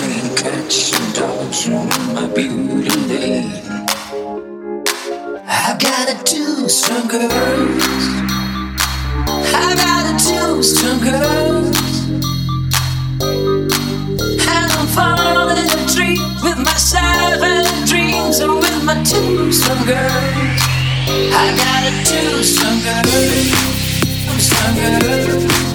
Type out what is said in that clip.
playing catch and dodge on my beauty lane. I've got a two strong girls. I got a two strong girls. And I'm falling in a tree with my seven dreams and with my two strong girls. I got a two strong girls. I'm strong girls.